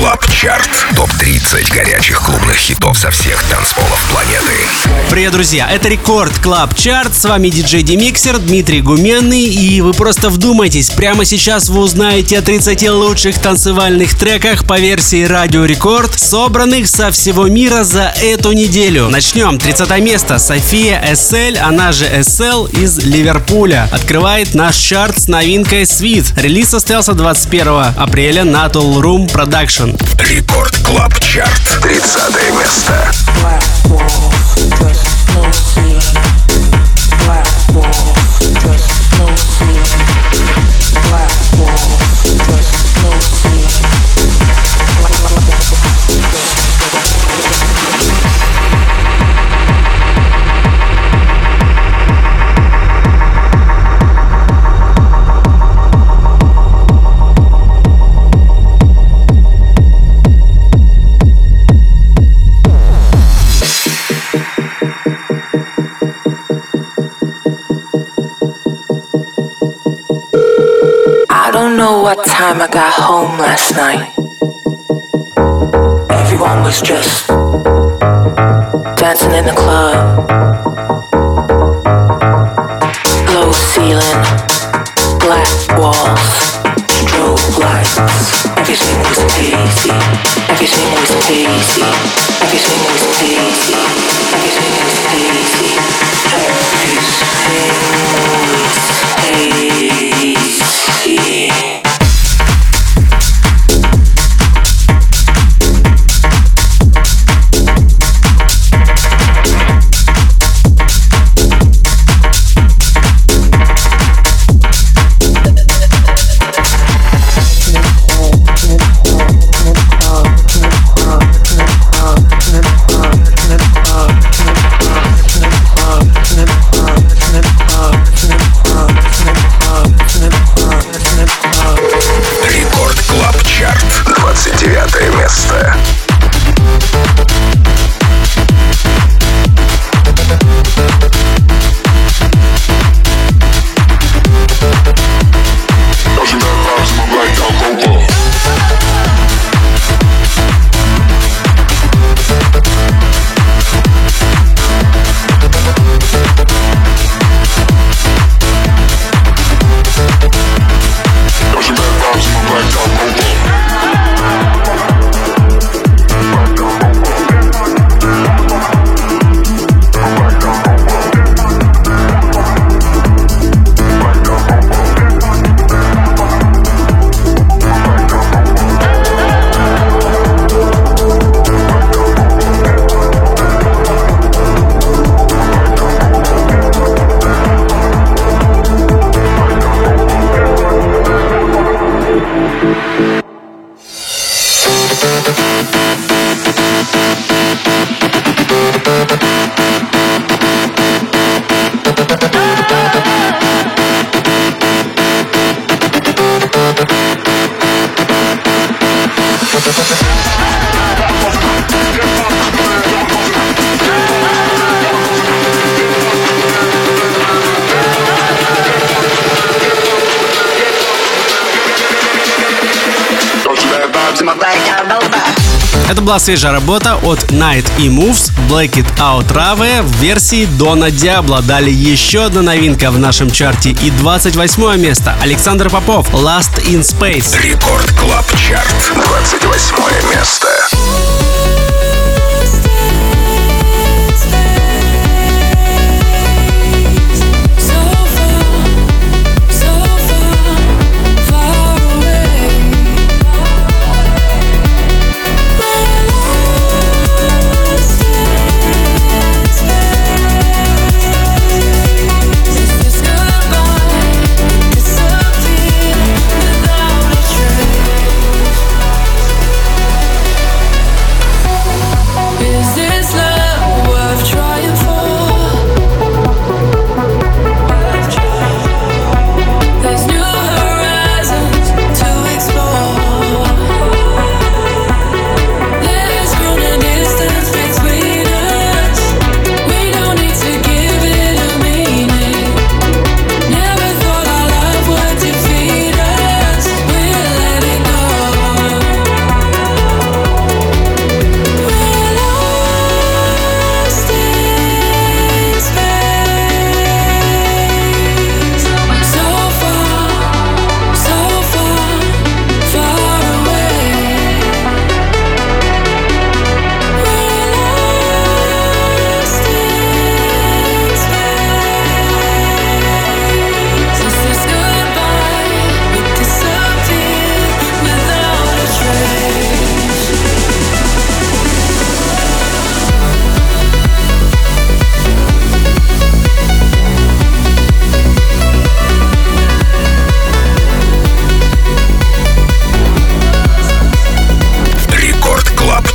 Клаб Чарт. Топ-30 горячих клубных хитов со всех танцполов планеты. Привет, друзья! Это Рекорд Клаб Чарт. С вами диджей Демиксер, Дмитрий Гуменный. И вы просто вдумайтесь, прямо сейчас вы узнаете о 30 лучших танцевальных треках по версии Радио Рекорд, собранных со всего мира за эту неделю. Начнем. 30 место. София Эссель, она же Эссел, из Ливерпуля, открывает наш чарт с новинкой Sweet. Релиз состоялся 21 апреля на Tool Room Production. Рекорд Клаб Чарт. 30 место. What time I got home last night? Everyone was just dancing in the club. Low ceiling, black walls, strobe lights. Everything was hazy. Everything was hazy. Everything was hazy. Everything was hazy. Everything was hazy. Это была свежая работа от Night и Moves, Black It Out Rave в версии Дона Диабло. Далее еще одна новинка в нашем чарте и 28 место. Александр Попов, Last in Space. Рекорд Клаб Чарт. 28 место.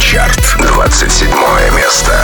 Чарт, 27 место.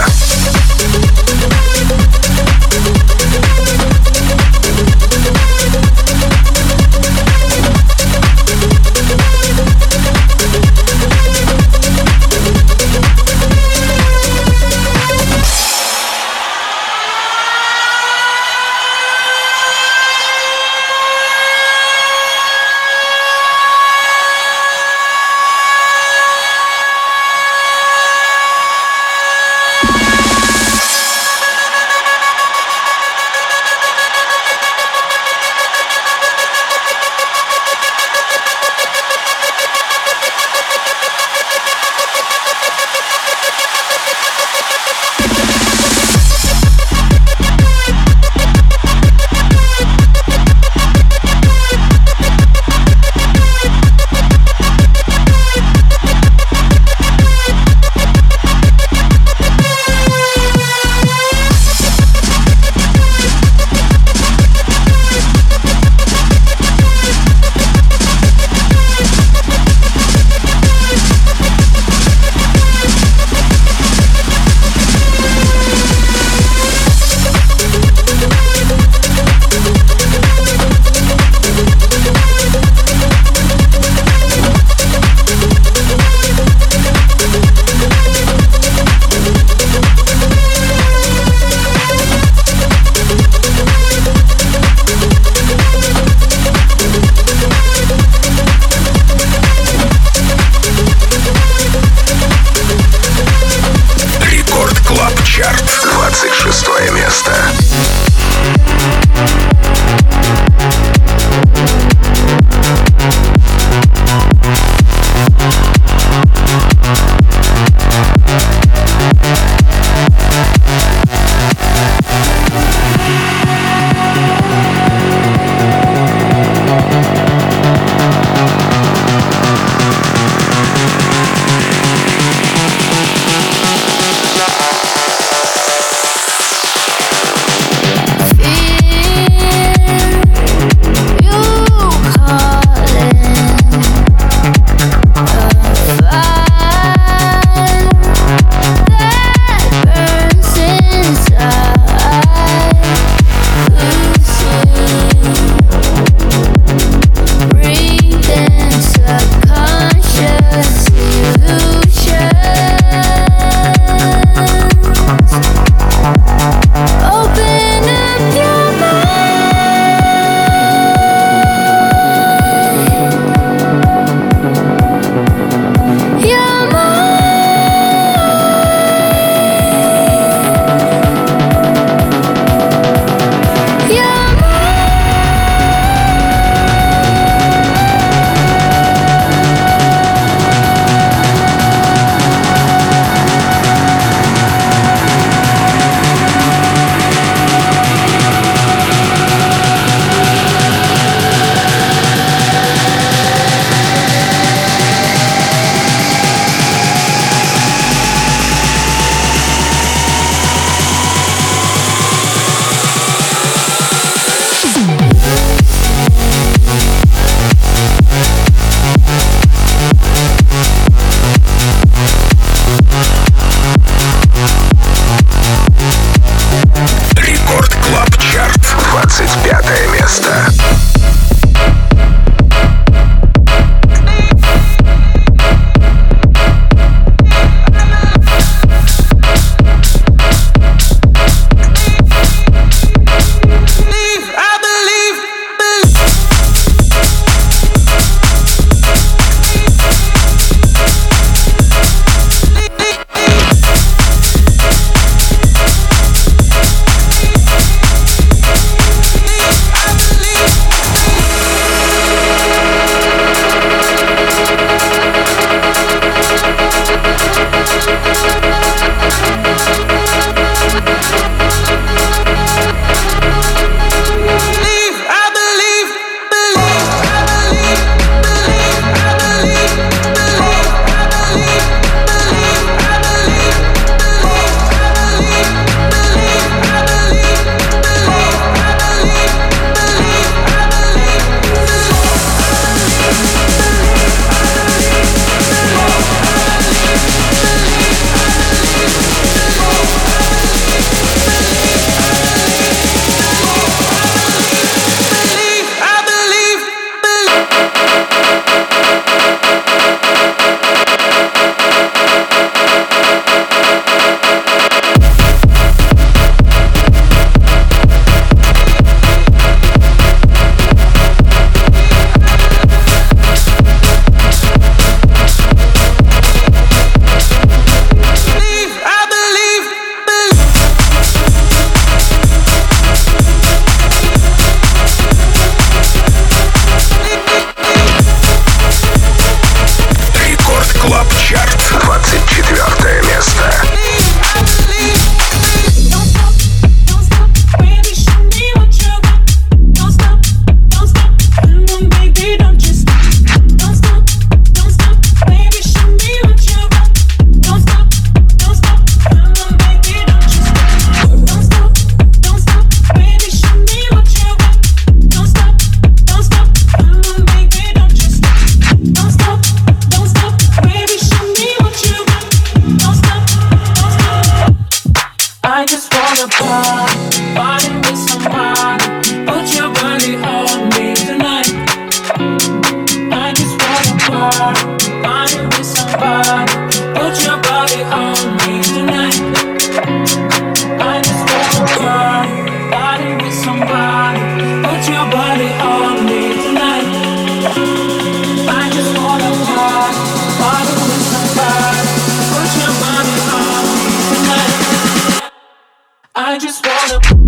body, put your body on me tonight. I just wanna party with somebody, put your body on me tonight. I just wanna party with somebody, put your body on me tonight. I just wanna.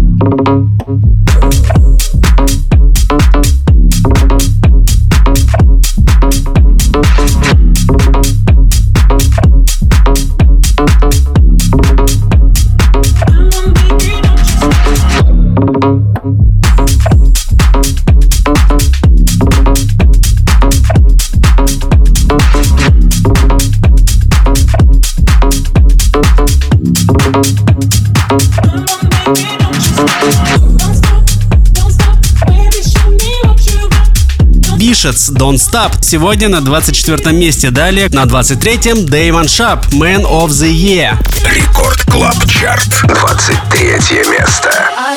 Bishets Don't Stop. Сегодня на 24-м месте. Далее на 23-м Damon Sharp Man of the Year. Рекорд Клаб Чарт. 23 место.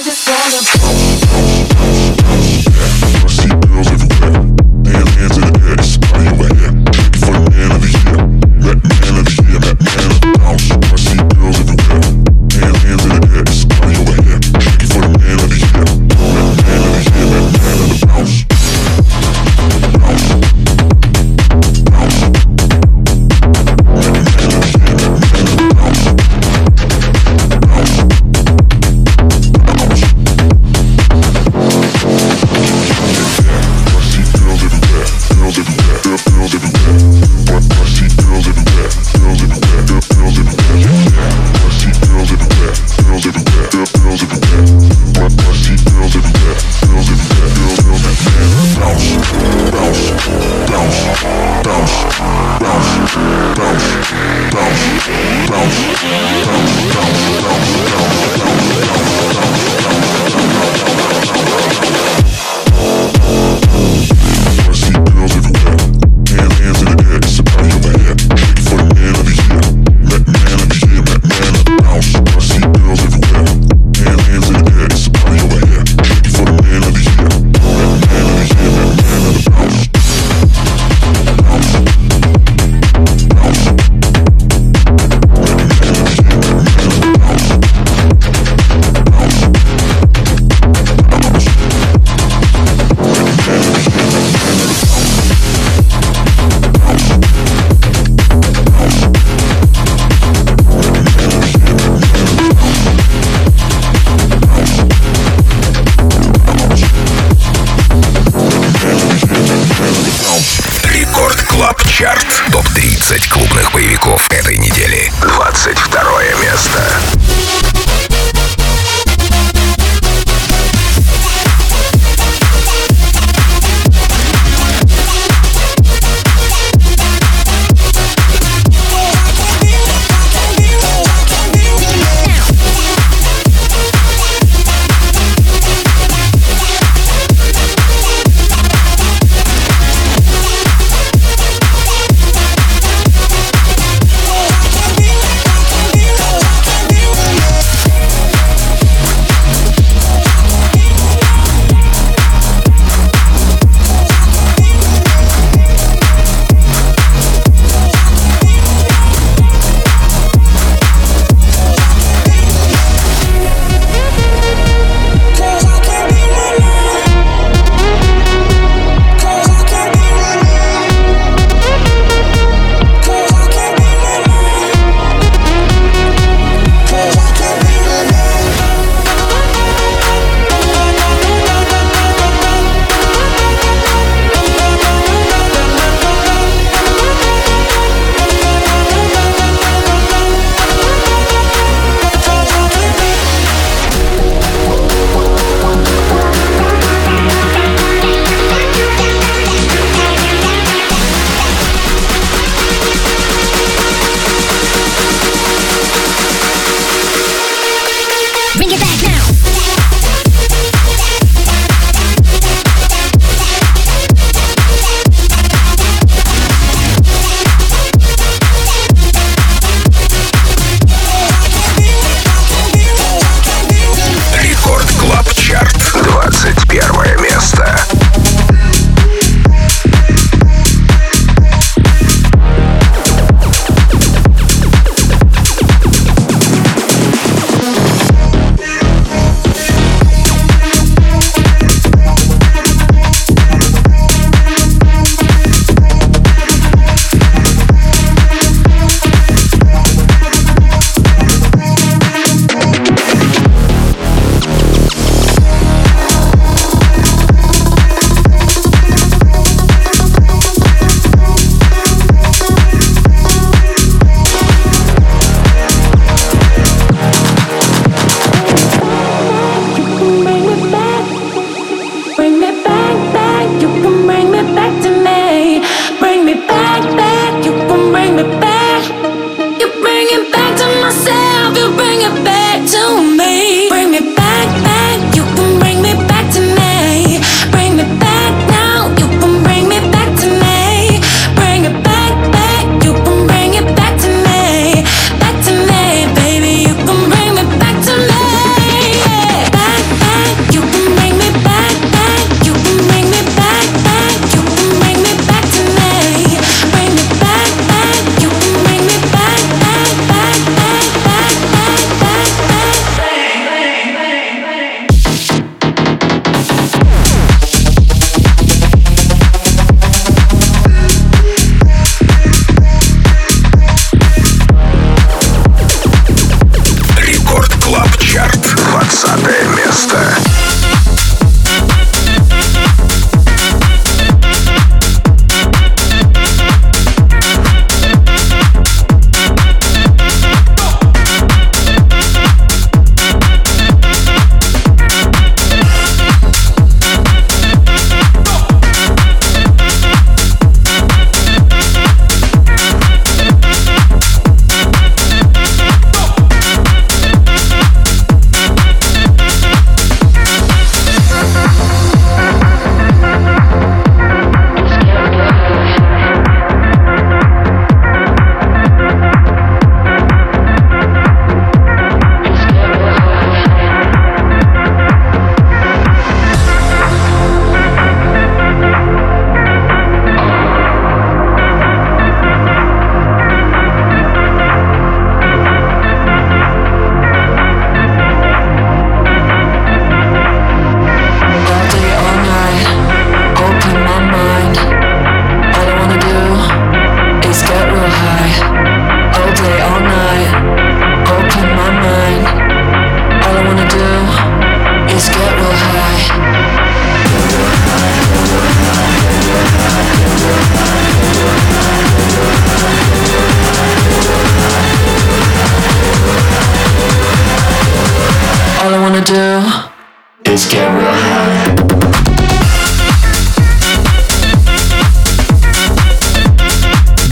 Топ-30 клубных боевиков этой недели. 22 место.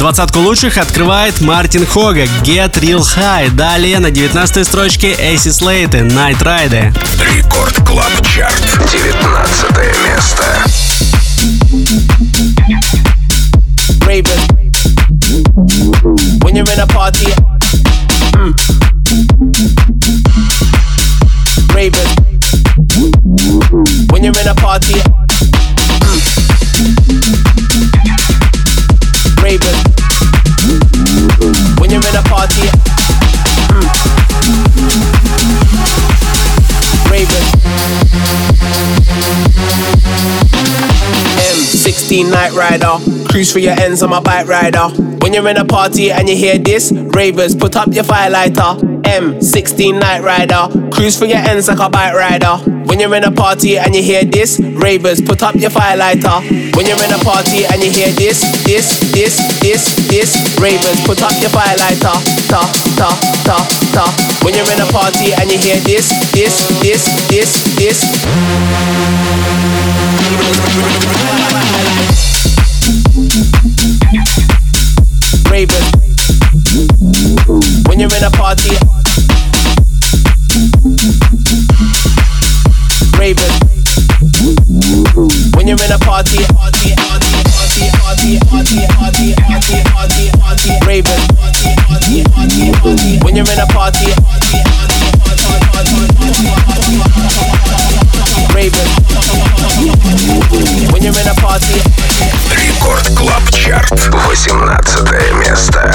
20-ку лучших открывает Мартин Хога «Get Real High». Далее на 19-й строчке Эйси Слейте «Night Ride». Рекорд Клаб Чарт. 19 место. Raven. When you're in a party, Raven. When you're in a party, Raven. When you're in a party, Raven. M16 Night Rider. Cruise for your ends on my bike rider. When you're in a party and you hear this, ravers, put up your firelighter. M16 Night Rider. Cruise for your ends like a bike rider. When you're in a party and you hear this, ravers, put up your firelighter. When you're in a party and you hear this, ravers, put up your firelighter. Ta ta ta ta. When you're in a party and you hear this. Raven. When you're in a party, Raven. When you're in a party, Raven. When you're in a party, Raven. When you're in a party. Рекорд Клаб Чарт. 18 место.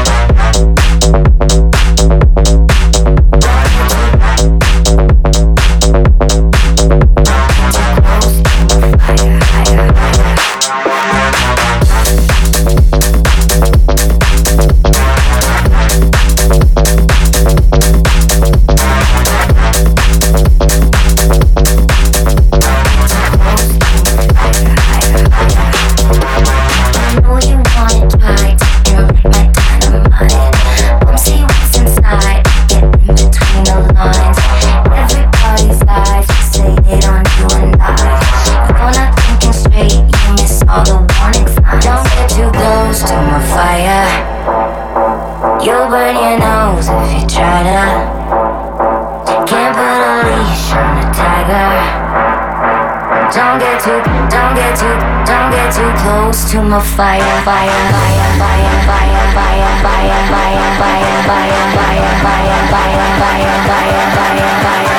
To my fire, fire, fire, fire, fire, fire, fire, fire, fire, fire, fire, fire, fire, fire, fire, fire,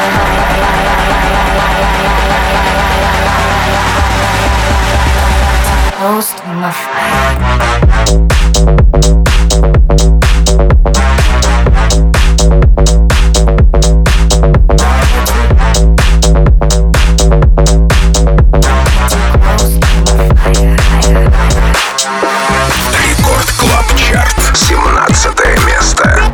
fire, close to my fire. Рекорд Клаб Чарт. 17 место.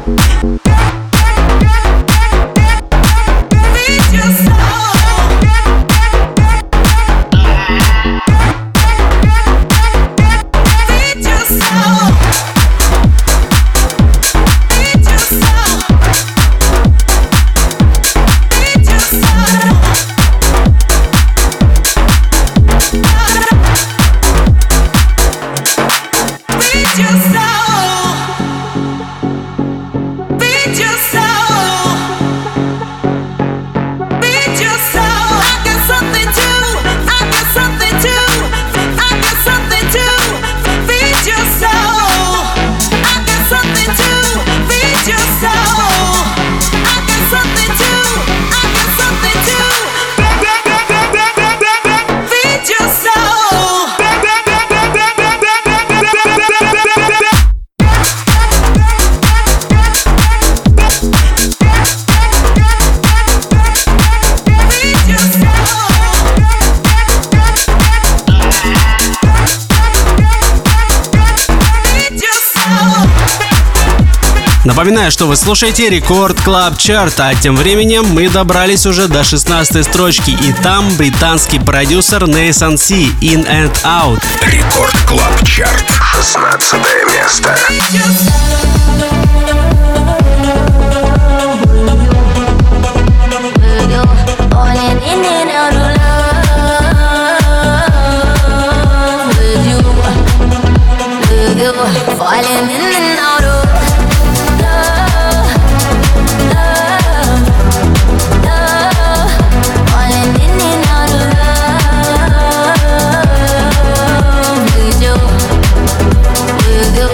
Напоминаю, что вы слушаете Рекорд Клаб Чарт, а тем временем мы добрались уже до 16-й строчки, и там британский продюсер Nathan C. In and Out. Рекорд Клаб Чарт. 16 место. You falling in and out of love, love, love, falling in and out of love with you, with you.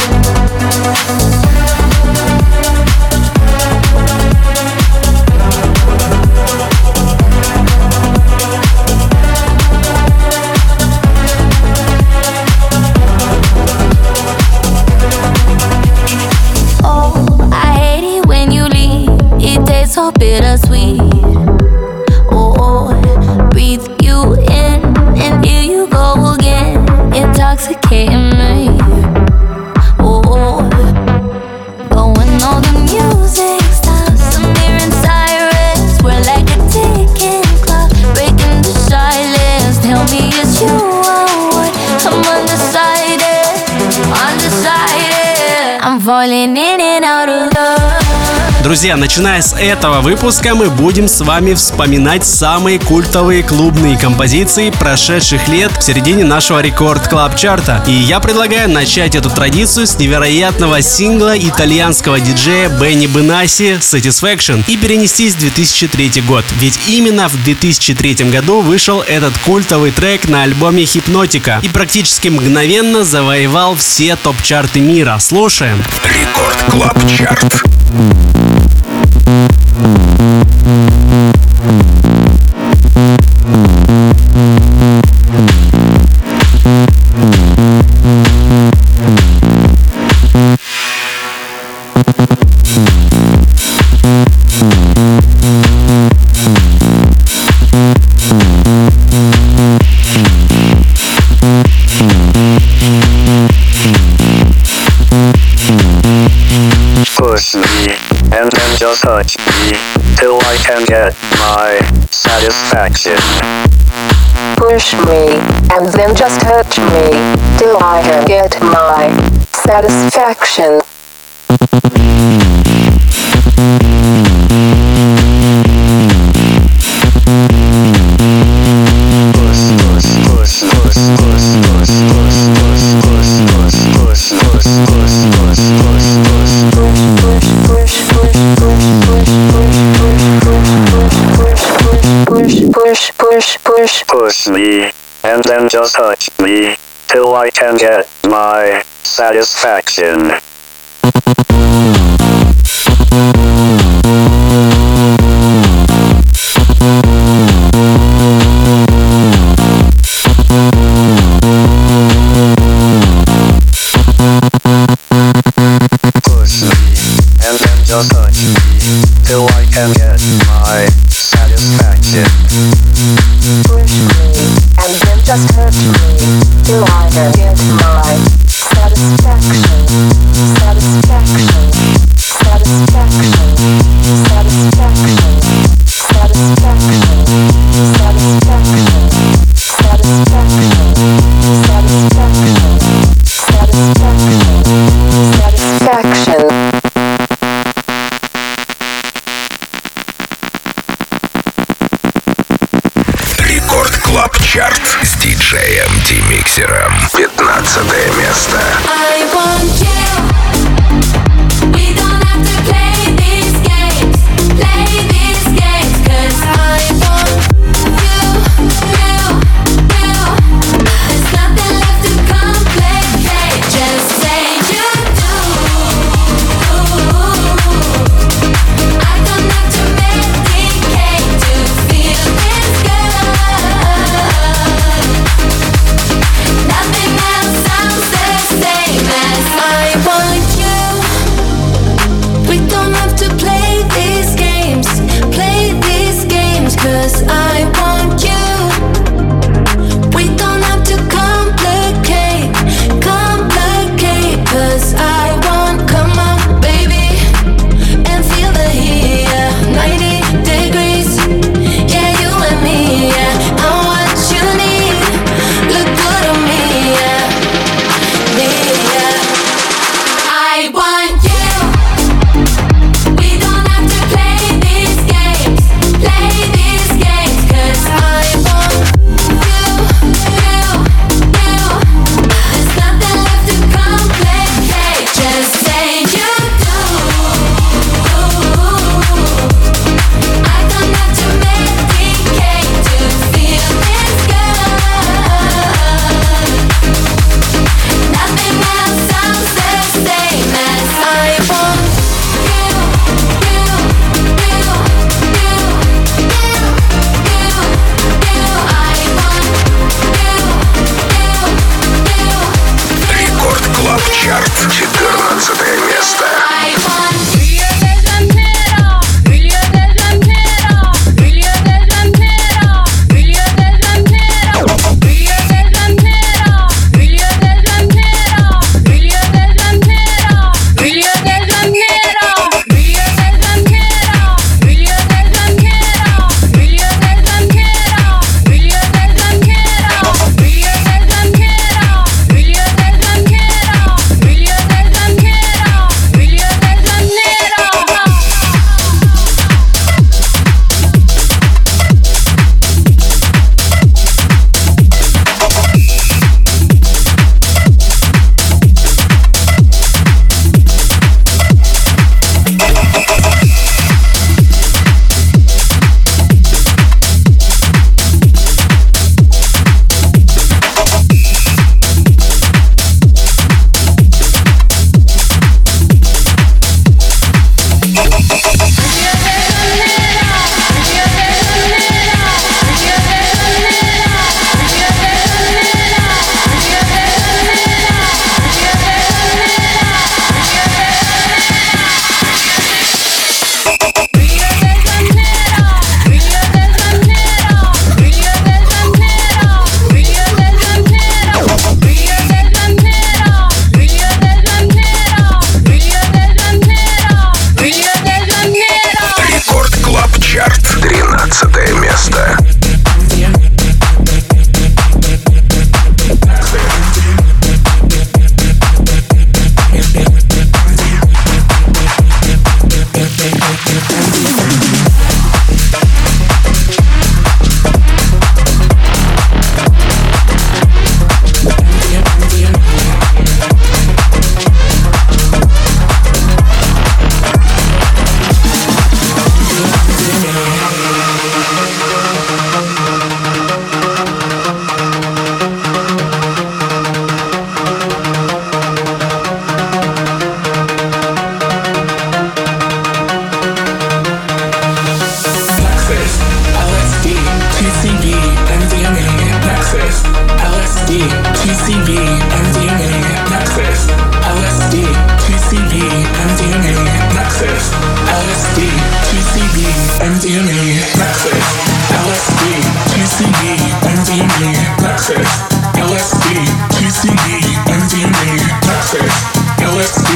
So bittersweet. Oh, breathe you in and here you go again, intoxicating me. Oh, but when all the music stops, I'm hearing sirens. We're like a ticking clock, breaking the silence. Tell me it's you I want. I'm undecided, undecided. I'm falling in and out of love. Друзья, начиная с этого выпуска мы будем с вами вспоминать самые культовые клубные композиции прошедших лет в середине нашего Рекорд Клаб Чарта. И я предлагаю начать эту традицию с невероятного сингла итальянского диджея Бенни Бенаси «Satisfaction» и перенестись в 2003 год. Ведь именно в 2003 году вышел этот культовый трек на альбоме «Hypnotica» и практически мгновенно завоевал все топ-чарты мира. Слушаем. Рекорд Клаб Чарт. Push me, and then just touch me, till I can get my satisfaction. Push me, and then just touch me, till I can get my satisfaction. Push me, and then just touch me, till I can get my satisfaction. Push me, and then just touch me, till I can get my satisfaction. Push me, and then just touch me, till I can get my satisfaction, satisfaction, satisfaction, satisfaction, satisfaction, satisfaction, satisfaction, satisfaction, satisfaction, satisfaction.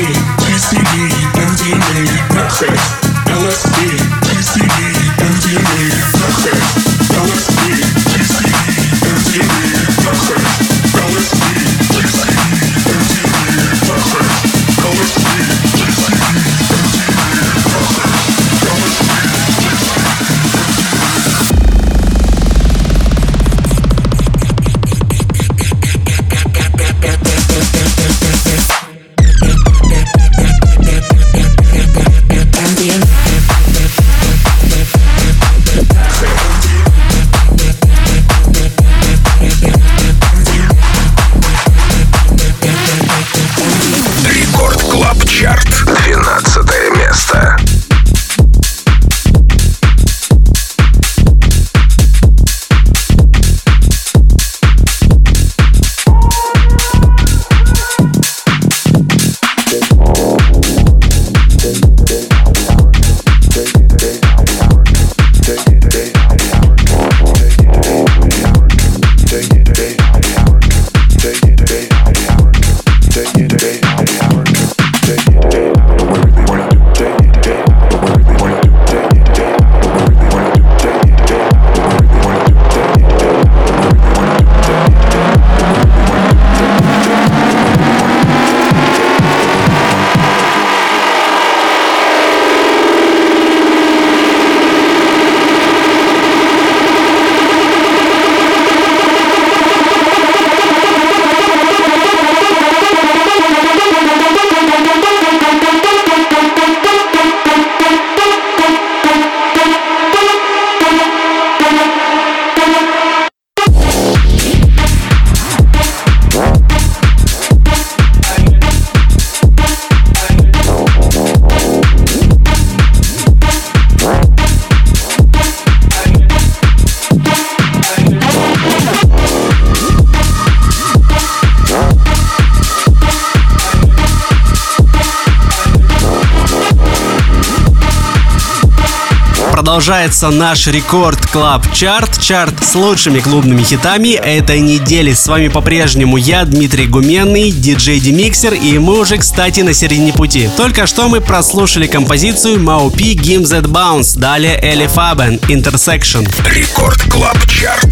Продолжается наш Рекорд Клаб Чарт, чарт с лучшими клубными хитами этой недели. С вами по-прежнему я, Дмитрий Гуменный, диджей Демиксер, и мы уже, кстати, на середине пути. Только что мы прослушали композицию Маупи Gimme That Bounce, далее Элли Фабен Intersection. Рекорд Клаб Чарт,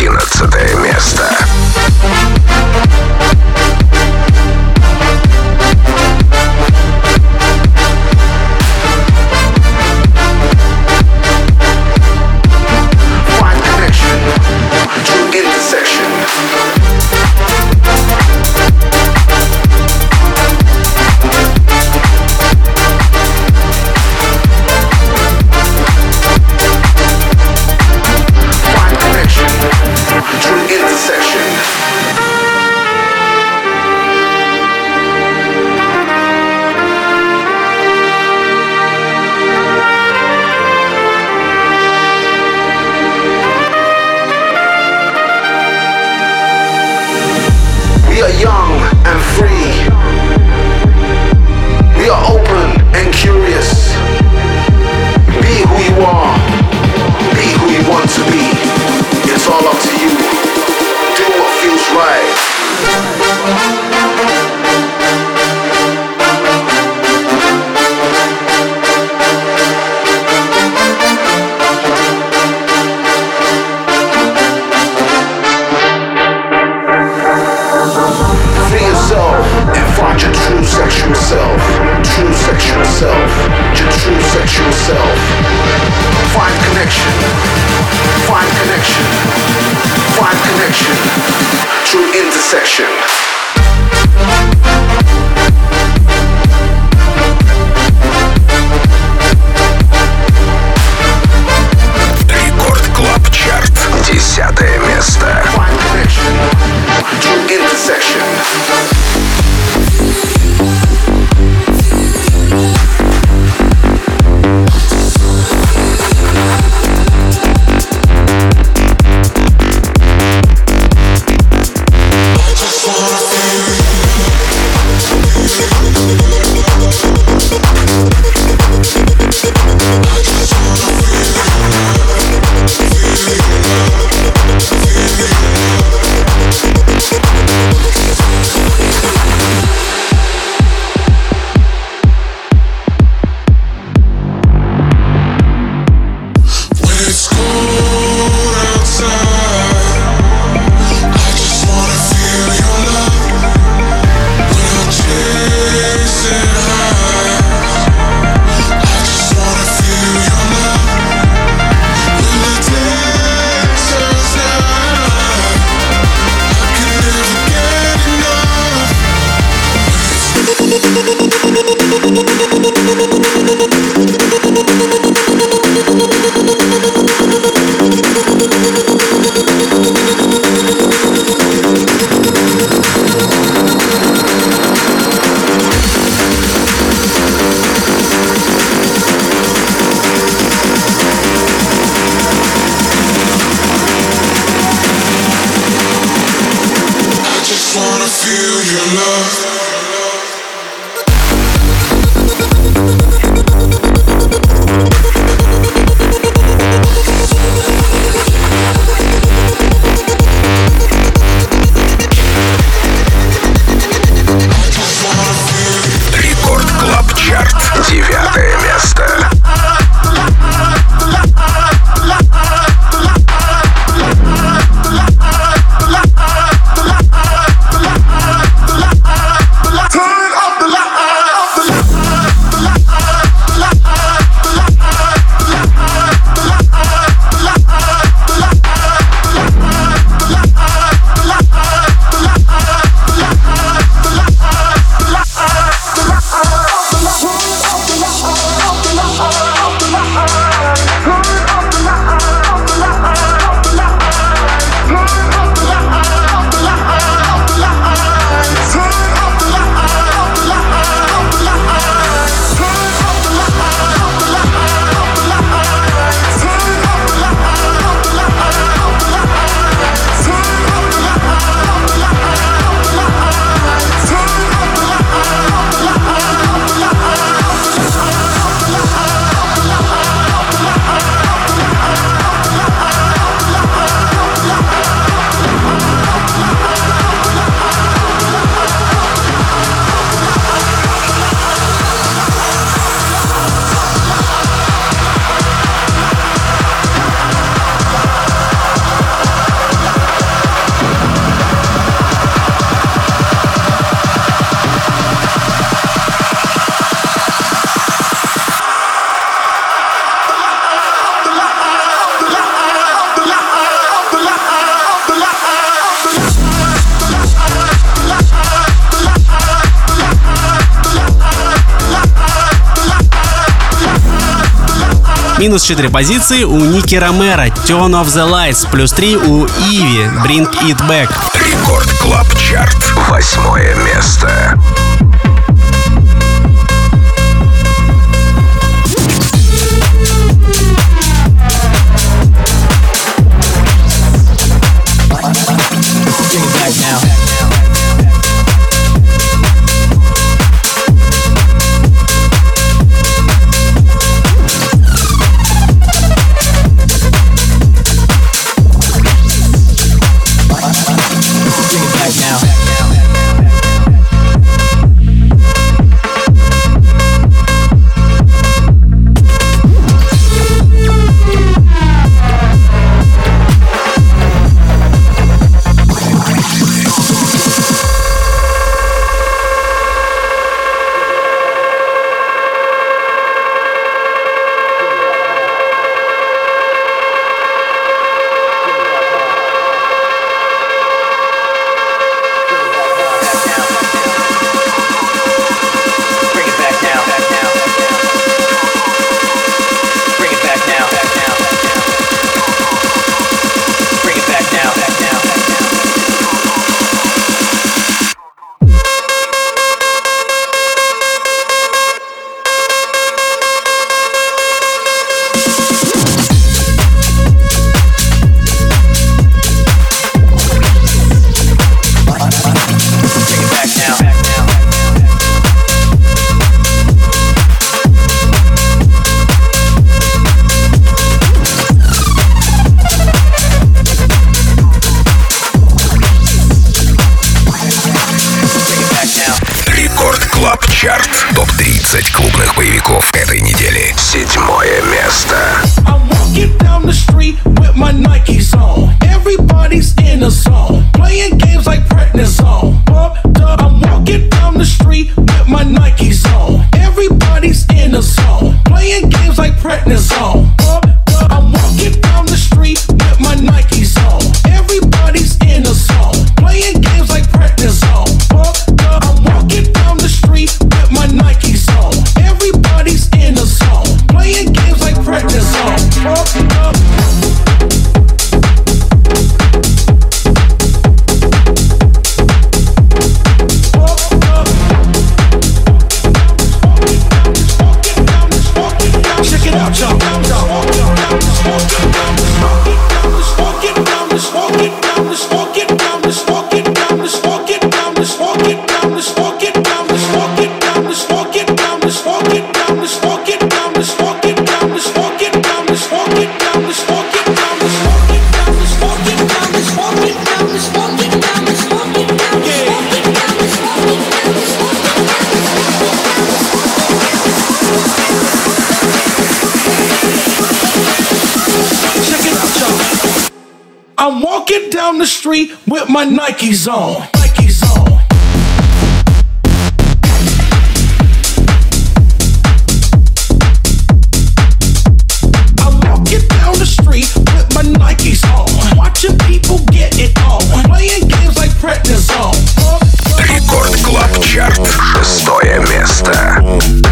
11 место. Минус 4 позиции у Ники Ромеро, Turn Off the Lights. Плюс 3 у Иви, Bring It Back. Рекорд Клаб Чарт. 8 место. Чарт. Топ-30 клубных боевиков этой недели. 7 место. I'm walking down the street with my Nikes on. Everybody's in a zone, playing games like prednisone. Pumped up. I'm walking down the street with my Nikes on. Everybody's in a zone, playing games like prednisone. Pumped up. I'm walking down the street with my Nikes on. Everybody's in a zone, playing games like prednisone. Pumped up. I'm walking down the street with my Nikes on. Everybody's in a zone, playing games like prednisone. Pumped up. I'm walking down the street with my Nikes on. Nikes on. I'm walking down the street with my Nikes on. Watching people get it on. Playing games like prednisone. Рекорд Клаб Чарт. 6 место.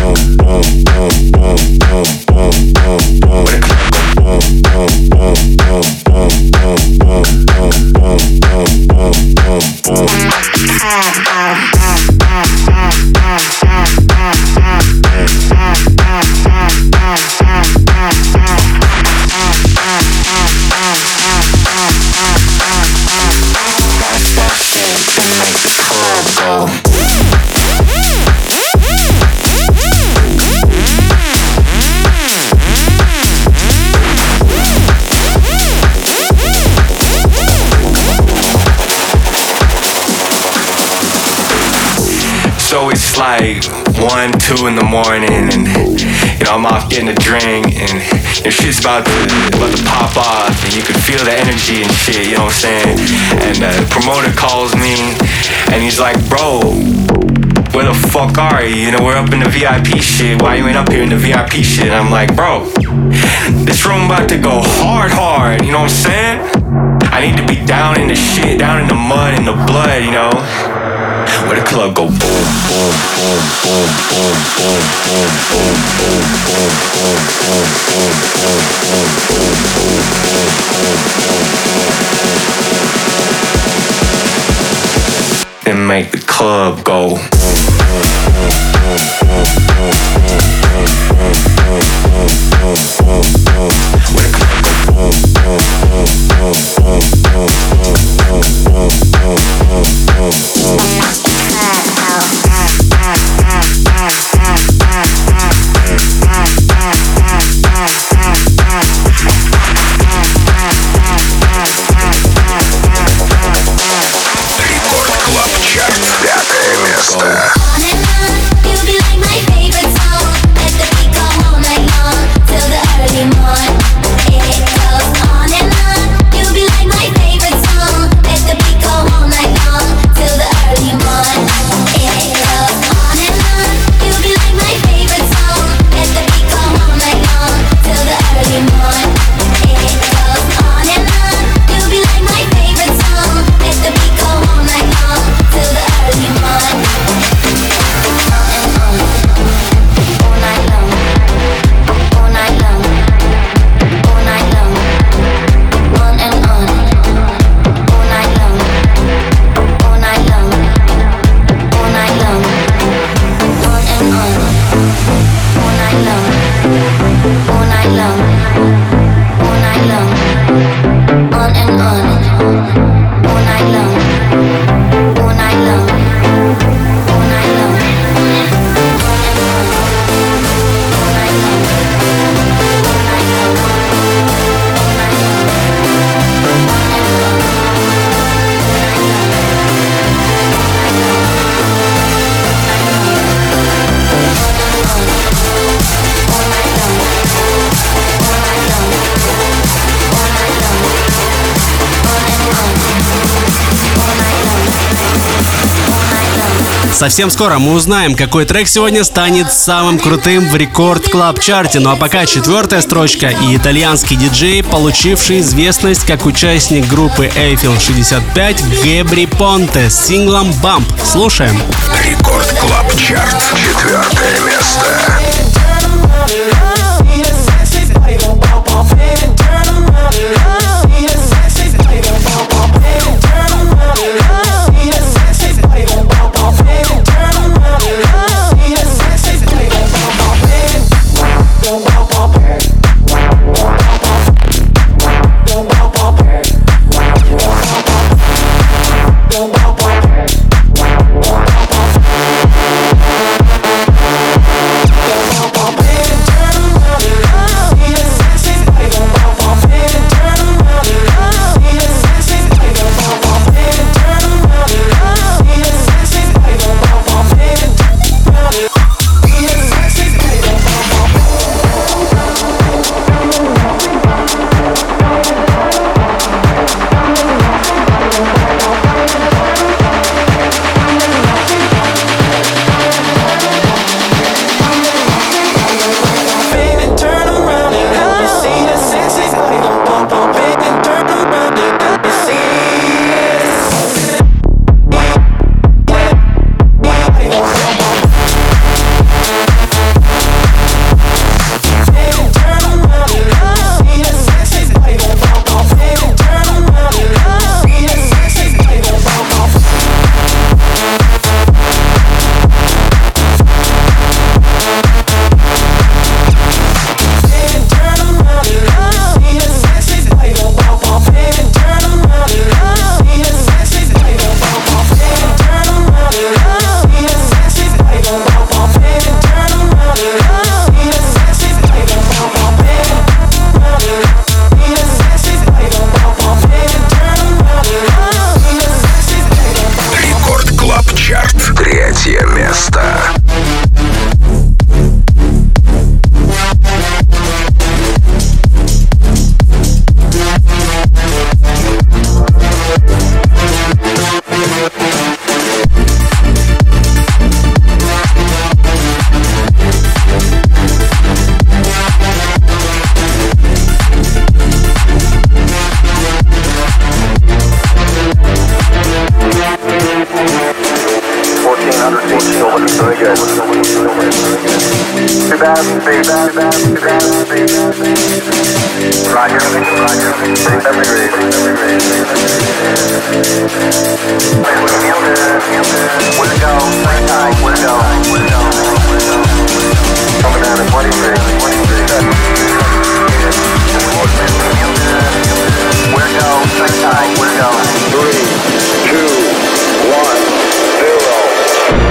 So it's like 1, 2 in the morning, and I'm off getting a drink, and shit's about to pop off, and you can feel the energy and shit. You know what I'm saying? And the promoter calls me, and he's like, "Bro, where the fuck are you? We're up in the VIP shit. Why you ain't up here in the VIP shit?" And I'm like, "Bro, this room about to go hard. You know what I'm saying? I need to be down in the shit, down in the mud, in the blood, where the club go boom, boom, boom, boom, boom, boom, boom, boom, boom, boom, boom, boom, boom, boom, boom, boom, boom, then make the club go. Совсем скоро мы узнаем, какой трек сегодня станет самым крутым в Рекорд Клаб Чарте. Ну а пока 4-я строчка и итальянский диджей, получивший известность как участник группы Eiffel 65 Гэбри Понте с синглом Bump. Слушаем. Рекорд Клаб Чарт. 4-е место. Coming down at 23. We'll go. 3, 2, 1, 0.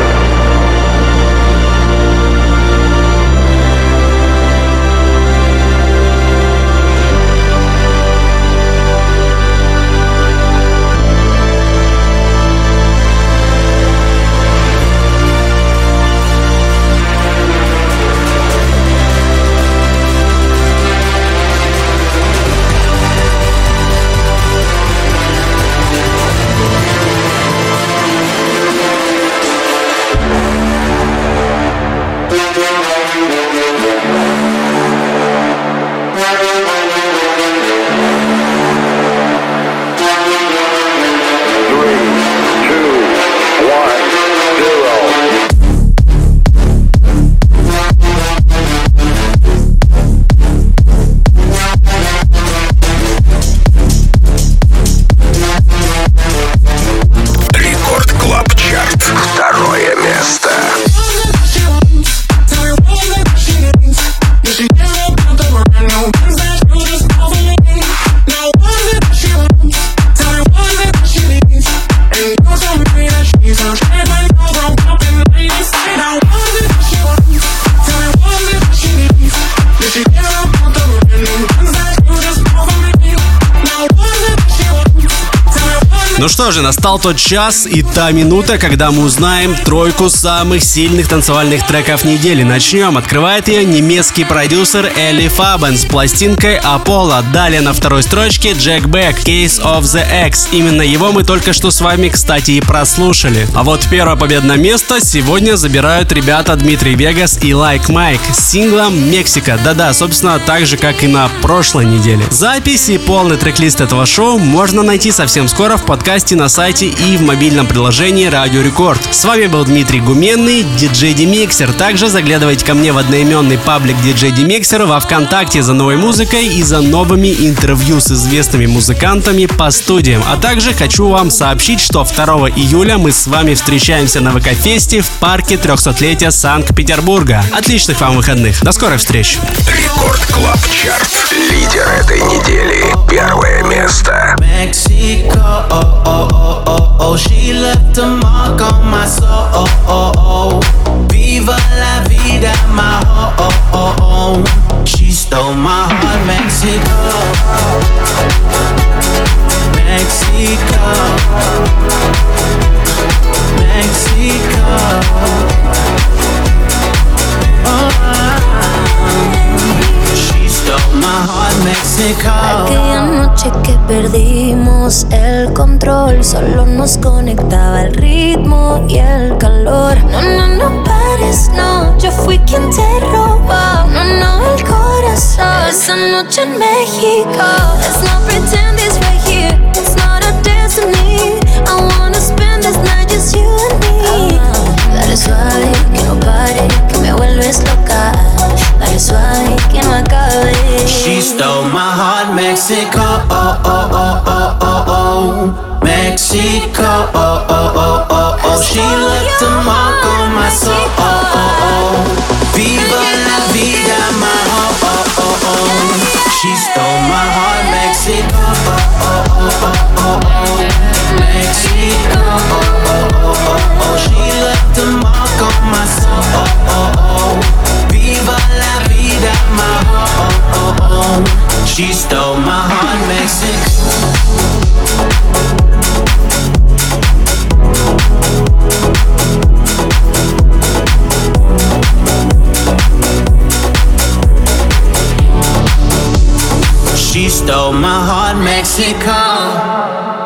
Ну что же, настал тот час и та минута, когда мы узнаем тройку самых сильных танцевальных треков недели. Начнем. Открывает ее немецкий продюсер Элли Фабен с пластинкой Apollo. Далее на второй строчке Jack Beck, Case of the X. Именно его мы только что с вами, кстати, и прослушали. А вот первое победное место сегодня забирают ребята Дмитрий Вегас и Like Mike с синглом «Мексика». Да-да, собственно, так же, как и на прошлой неделе. Запись и полный трек-лист этого шоу можно найти совсем скоро в подкасте на сайте и в мобильном приложении Радио Рекорд. С вами был Дмитрий Гуменный, DJ Demixer. Также заглядывайте ко мне в одноименный паблик DJ Demixer во ВКонтакте за новой музыкой и за новыми интервью с известными музыкантами по студиям. А также хочу вам сообщить, что 2 июля мы с вами встречаемся на ВК-фесте в парке 300-летия Санкт-Петербурга. Отличных вам выходных. До скорых встреч. Рекорд Клаб Чарт. Лидер этой недели. Первое место. She left a mark on my soul. Viva la vida, my home. She stole my heart, Mexico. Mexico. Mexico. She stole my heart, Mexico. Aquella noche que perdimos el control, solo nos conectaba el ritmo y el calor. No, no, no pares, no, yo fui quien te robó. No, no, el corazón. Esa noche en México. Let's not pretend it's right here. It's not a destiny. I wanna spend this night just you and me. Dale suave, que no pare, que me vuelves loca. Dale suave, que no acabe. She stole my heart, Mexico. Mexico. She left a mark on my soul. Viva la vida, my home. She stole my heart, Mexico. Mexico. She left a mark on my soul. Viva la vida, my home. She stole my heart, Mexico. She stole my heart, Mexico.